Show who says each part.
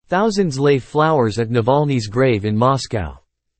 Speaker 1: Thousands lay flowers at Navalny's grave in Moscow.